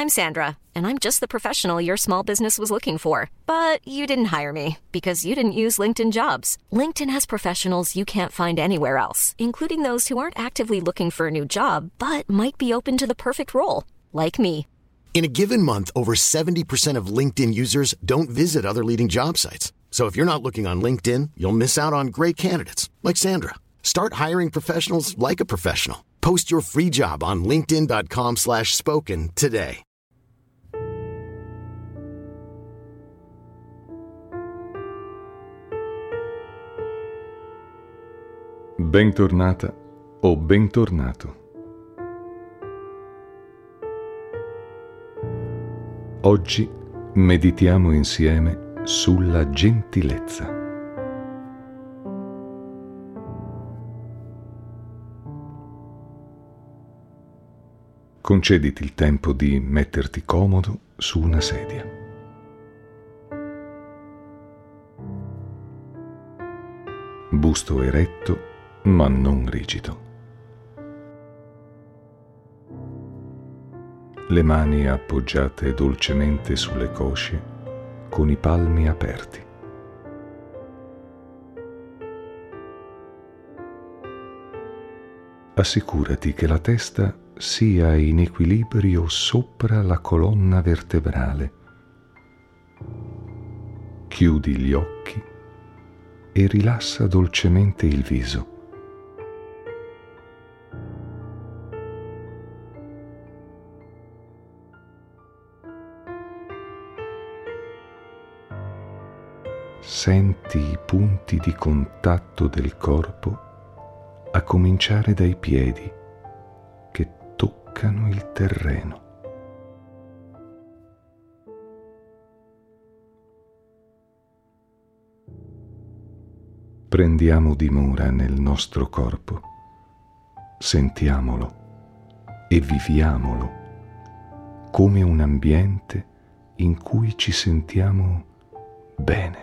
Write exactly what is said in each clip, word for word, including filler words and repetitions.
I'm Sandra, and I'm just the professional your small business was looking for. But you didn't hire me because you didn't use LinkedIn Jobs. LinkedIn has professionals you can't find anywhere else, including those who aren't actively looking for a new job, but might be open to the perfect role, like me. In a given month, over seventy percent of LinkedIn users don't visit other leading job sites. So if you're not looking on LinkedIn, you'll miss out on great candidates like Sandra. Start hiring professionals like a professional. Post your free job on linkedin.com slash spoken today. Bentornata o bentornato. Oggi meditiamo insieme sulla gentilezza. Concediti il tempo di metterti comodo su una sedia. Busto eretto, ma non rigido. Le mani appoggiate dolcemente sulle cosce, con i palmi aperti. Assicurati che la testa sia in equilibrio sopra la colonna vertebrale. Chiudi gli occhi e rilassa dolcemente il viso. Senti i punti di contatto del corpo a cominciare dai piedi che toccano il terreno. Prendiamo dimora nel nostro corpo, sentiamolo e viviamolo come un ambiente in cui ci sentiamo bene.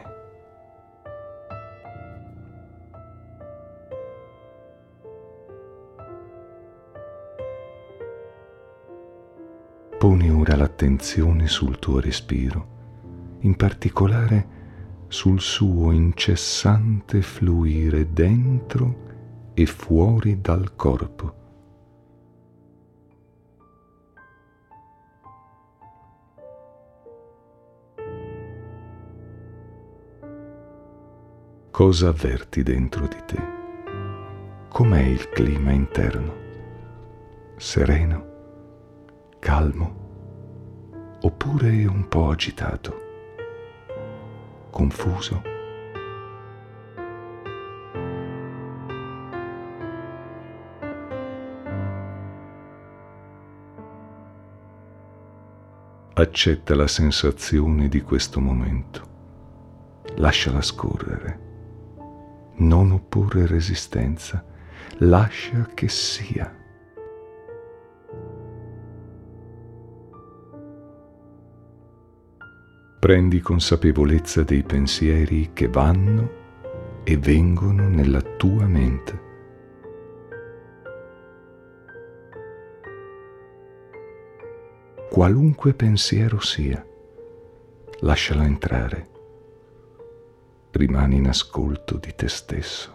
Poni ora l'attenzione sul tuo respiro, in particolare sul suo incessante fluire dentro e fuori dal corpo. Cosa avverti dentro di te? Com'è il clima interno? Sereno? Calmo, oppure un po' agitato, confuso? Accetta la sensazione di questo momento, lasciala scorrere, non opporre resistenza, lascia che sia. Prendi consapevolezza dei pensieri che vanno e vengono nella tua mente. Qualunque pensiero sia, lascialo entrare. Rimani in ascolto di te stesso.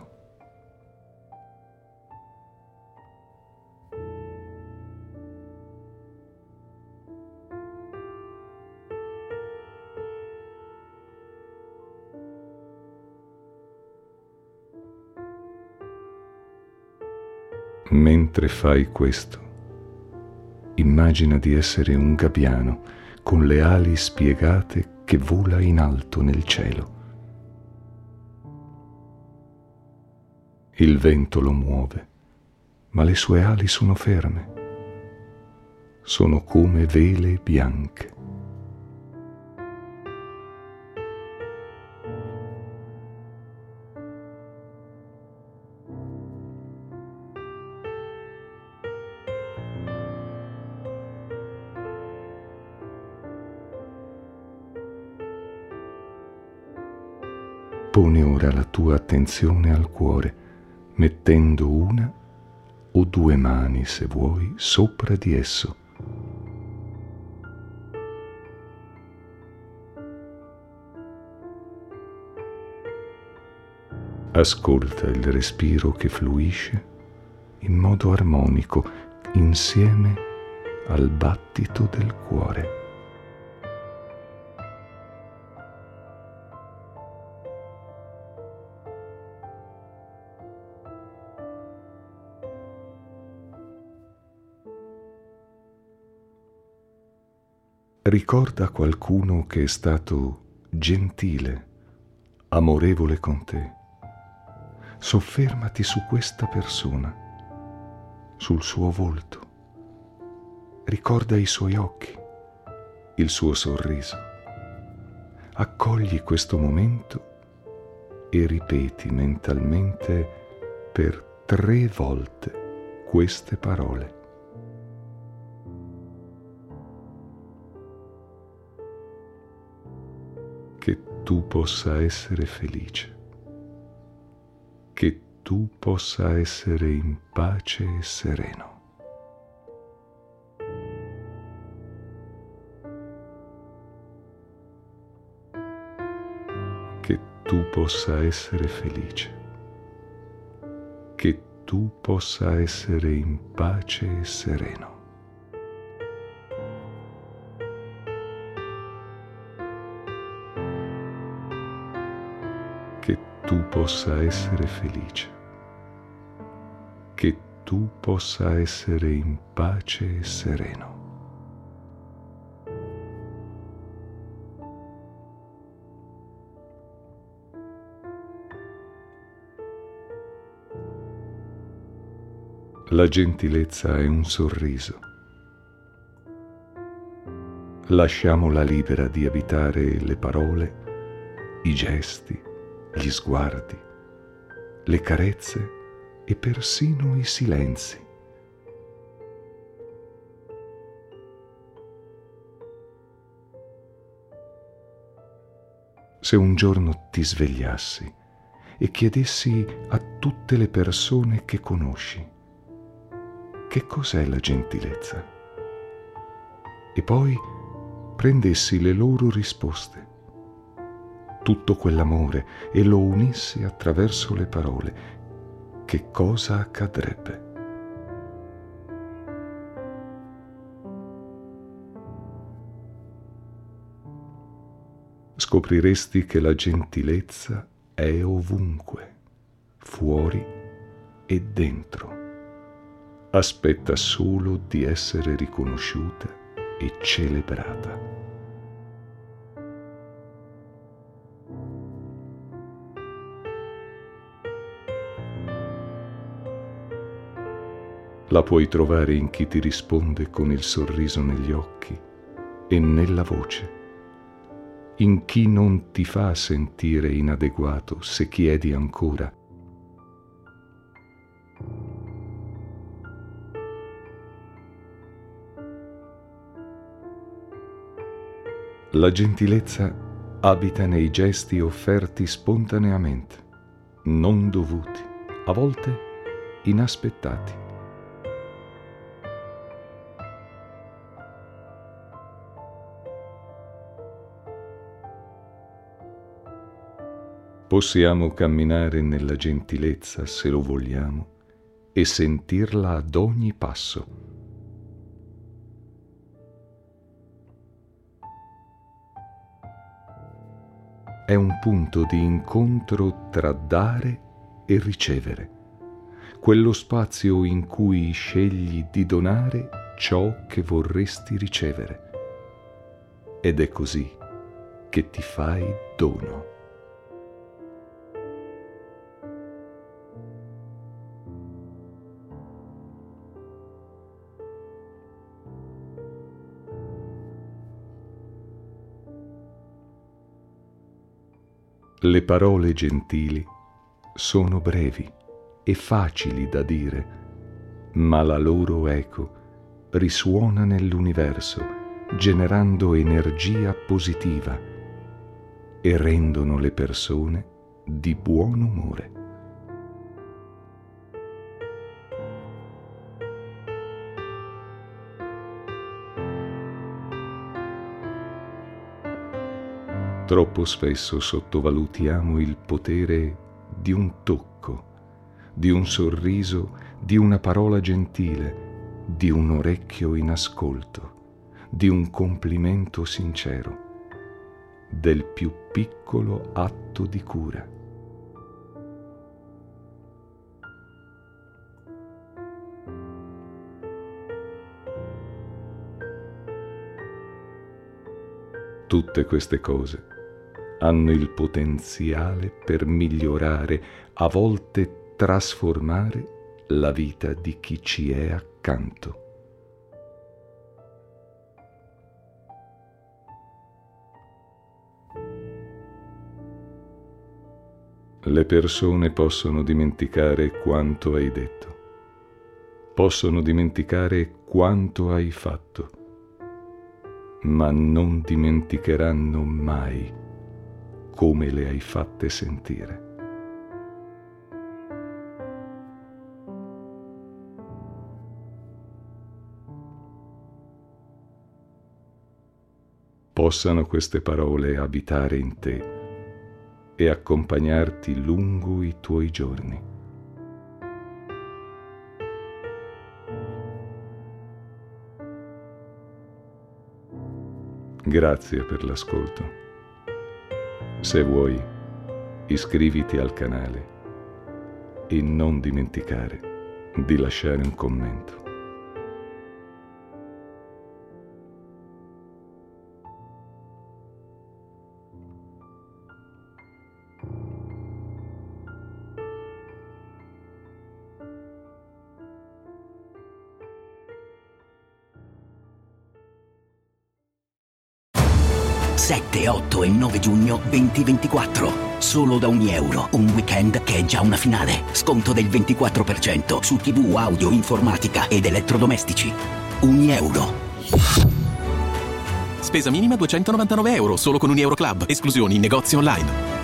Mentre fai questo, immagina di essere un gabbiano con le ali spiegate che vola in alto nel cielo. Il vento lo muove, ma le sue ali sono ferme. Sono come vele bianche. Poni ora la tua attenzione al cuore, mettendo una o due mani, se vuoi, sopra di esso. Ascolta il respiro che fluisce in modo armonico insieme al battito del cuore. Ricorda qualcuno che è stato gentile, amorevole con te. Soffermati su questa persona, sul suo volto. Ricorda i suoi occhi, il suo sorriso. Accogli questo momento e ripeti mentalmente per tre volte queste parole. Che tu possa essere felice, che tu possa essere in pace e sereno. Che tu possa essere felice, che tu possa essere in pace e sereno. Che tu possa essere felice, che tu possa essere in pace e sereno. La gentilezza è un sorriso. Lasciamola libera di abitare le parole, i gesti, gli sguardi, le carezze e persino i silenzi. Se un giorno ti svegliassi e chiedessi a tutte le persone che conosci che cos'è la gentilezza, e poi prendessi le loro risposte, tutto quell'amore, e lo unissi attraverso le parole, che cosa accadrebbe? Scopriresti che la gentilezza è ovunque, fuori e dentro. Aspetta solo di essere riconosciuta e celebrata. La puoi trovare in chi ti risponde con il sorriso negli occhi e nella voce, in chi non ti fa sentire inadeguato se chiedi ancora. La gentilezza abita nei gesti offerti spontaneamente, non dovuti, a volte inaspettati. Possiamo camminare nella gentilezza se lo vogliamo e sentirla ad ogni passo. È un punto di incontro tra dare e ricevere, quello spazio in cui scegli di donare ciò che vorresti ricevere. Ed è così che ti fai dono. Le parole gentili sono brevi e facili da dire, ma la loro eco risuona nell'universo, generando energia positiva e rendono le persone di buon umore. Troppo spesso sottovalutiamo il potere di un tocco, di un sorriso, di una parola gentile, di un orecchio in ascolto, di un complimento sincero, del più piccolo atto di cura. Tutte queste cose hanno il potenziale per migliorare, a volte trasformare, la vita di chi ci è accanto. Le persone possono dimenticare quanto hai detto, possono dimenticare quanto hai fatto, ma non dimenticheranno mai come le hai fatte sentire. Possano queste parole abitare in te e accompagnarti lungo i tuoi giorni. Grazie per l'ascolto. Se vuoi, iscriviti al canale e non dimenticare di lasciare un commento. sette, otto e nove giugno duemilaventiquattro. Solo da ogni euro. Un weekend che è già una finale. Sconto del ventiquattro per cento su tivù, audio, informatica ed elettrodomestici. Ogni euro. Spesa minima duecentonovantanove euro solo con un Euro Club. Esclusioni in negozi online.